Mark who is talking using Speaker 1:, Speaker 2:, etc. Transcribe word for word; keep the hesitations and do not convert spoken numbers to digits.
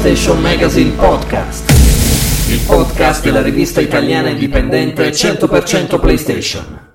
Speaker 1: PlayStation Magazine Podcast, il podcast della rivista italiana indipendente cento per cento PlayStation.